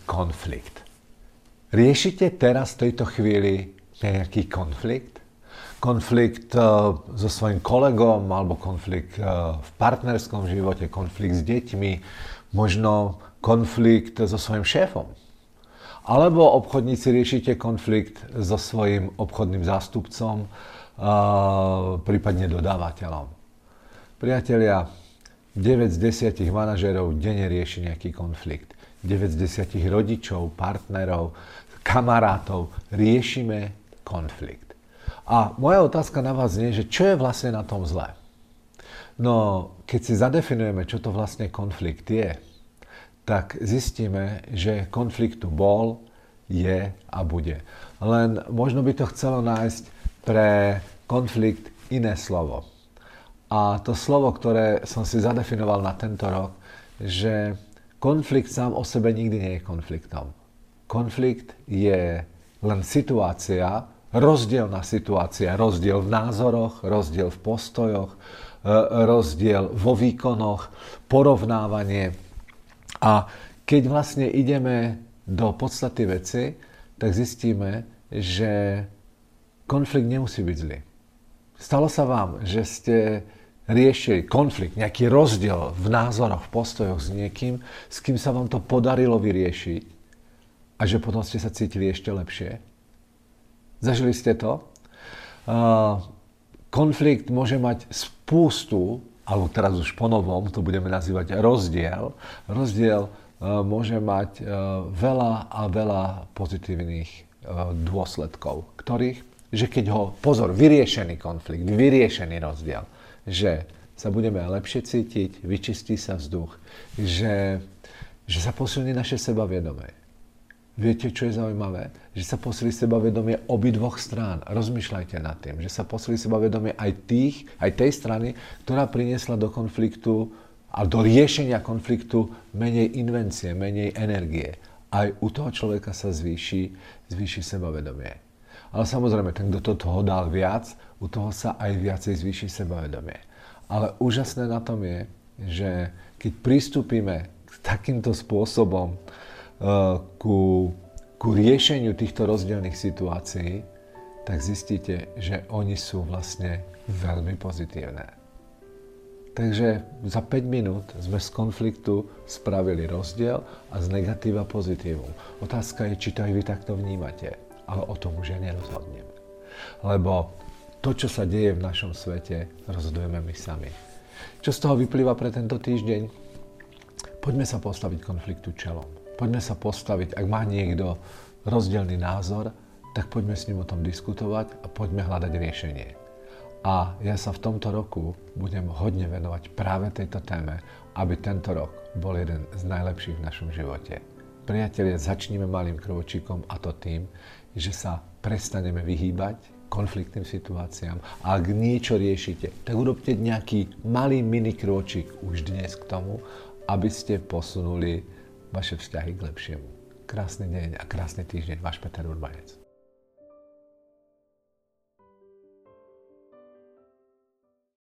konflikt. Riešite teraz v tejto chvíli nejaký konflikt? Konflikt so svojím kolegom, alebo konflikt v partnerskom živote, konflikt s deťmi, možno konflikt so svojím šéfom. Alebo obchodníci riešite konflikt so svojím obchodným zástupcom, prípadne dodávateľom. Priatelia, 9 z 10 manažérov denne rieši nejaký konflikt. 9 z 10 rodičov, partnerov, kamarátov riešime konflikt. A moja otázka na vás znie, že čo je vlastne na tom zlé? No, keď si zadefinujeme, čo to vlastne konflikt je, tak zistíme, že konflikt tu bol, je a bude. Len možno by to chcelo nájsť pre konflikt iné slovo. A to slovo, ktoré som si zadefinoval na tento rok, že konflikt sám o sebe nikdy nie je konfliktom. Konflikt je len situácia, rozdielna situácia, rozdiel v názoroch, rozdiel v postojoch, rozdiel vo výkonoch, porovnávanie. A keď vlastne ideme do podstaty veci, tak zistíme, že konflikt nemusí byť zlý. Stalo sa vám, že ste riešili konflikt, nejaký rozdiel v názoroch, v postojoch s niekým, s kým sa vám to podarilo vyriešiť a že potom ste sa cítili ešte lepšie? Zažili ste to? Konflikt môže mať spústu, alebo teraz už po novom to budeme nazývať rozdiel. Rozdiel môže mať veľa a veľa pozitívnych dôsledkov, ktorých, že keď ho, pozor, vyriešený konflikt, vyriešený rozdiel, že sa budeme lepšie cítiť, vyčistí sa vzduch, že sa posilní naše sebavedomie. Viete, čo je zaujímavé? Že sa posilí sebavedomie obidvoch strán. Rozmýšľajte nad tým, že sa posilí sebavedomie aj tej strany, ktorá priniesla do konfliktu a do riešenia konfliktu menej invencie, menej energie. Aj u toho človeka sa zvýši sebavedomie. Ale samozrejme, ten, kto do toho dal viac, u toho sa aj viacej zvýši sebavedomie. Ale úžasné na tom je, že keď pristúpime k takýmto spôsobom ku riešeniu týchto rozdielnych situácií, tak zistíte, že oni sú vlastne veľmi pozitívne. Takže za 5 minút sme z konfliktu spravili rozdiel a z negatíva pozitívum. Otázka je, či to aj vy takto vnímate. Ale o tom už ja nerozhodnem. Lebo to, čo sa deje v našom svete, rozhodujeme my sami. Čo z toho vyplýva pre tento týždeň? Poďme sa postaviť konfliktu čelom. Poďme sa postaviť, ak má niekto rozdielny názor, tak poďme s ním o tom diskutovať a poďme hľadať riešenie. A ja sa v tomto roku budem hodne venovať práve tejto téme, aby tento rok bol jeden z najlepších v našom živote. Priatelia, začníme malým krôčikom, a to tým, že sa prestaneme vyhýbať konfliktným situáciám. A ak niečo riešite, tak urobte nejaký malý mini krôčik už dnes k tomu, aby ste posunuli vaše vzťahy k lepšiemu. Krásny deň a krásny týždeň, váš Peter Urbanec.